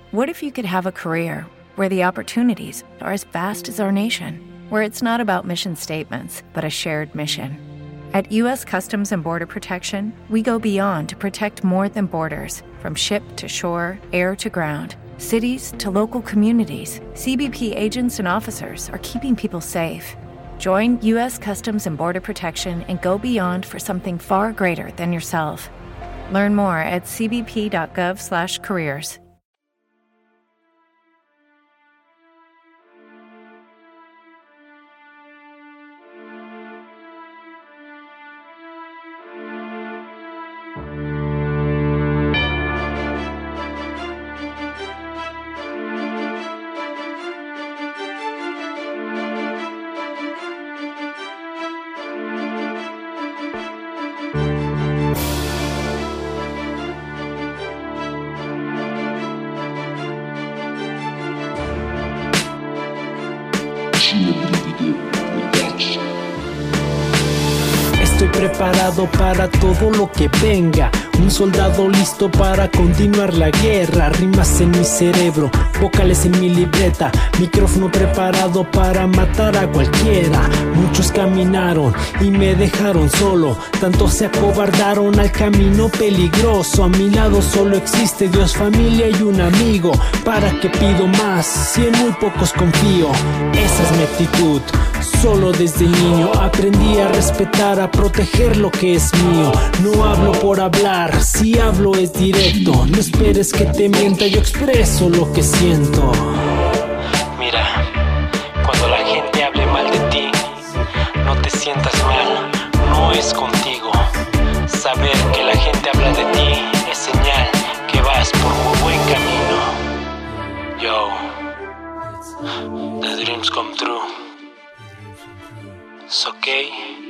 What if you could have a career where the opportunities are as vast as our nation, where it's not about mission statements, but a shared mission? At U.S. Customs and Border Protection, we go beyond to protect more than borders. From ship to shore, air to ground, cities to local communities, CBP agents and officers are keeping people safe. Join U.S. Customs and Border Protection and go beyond for something far greater than yourself. Learn more at cbp.gov/careers. Estoy preparado para todo lo que venga. Un soldado listo para continuar la guerra. Rimas en mi cerebro, vocales en mi libreta. Micrófono preparado para matar a cualquiera. Muchos caminaron y me dejaron solo. Tantos se acobardaron al camino peligroso. A mi lado solo existe Dios, familia y un amigo. ¿Para qué pido más si en muy pocos confío? Esa es mi actitud. Solo desde niño aprendí a respetar, a proteger lo que es mío. No hablo por hablar, si hablo es directo. No esperes que te mienta, yo expreso lo que siento. Mira, cuando la gente hable mal de ti, no te sientas mal, no es contigo. Saber que la gente habla de ti es señal que vas por muy buen camino. Yo, the dreams come true. It's okay.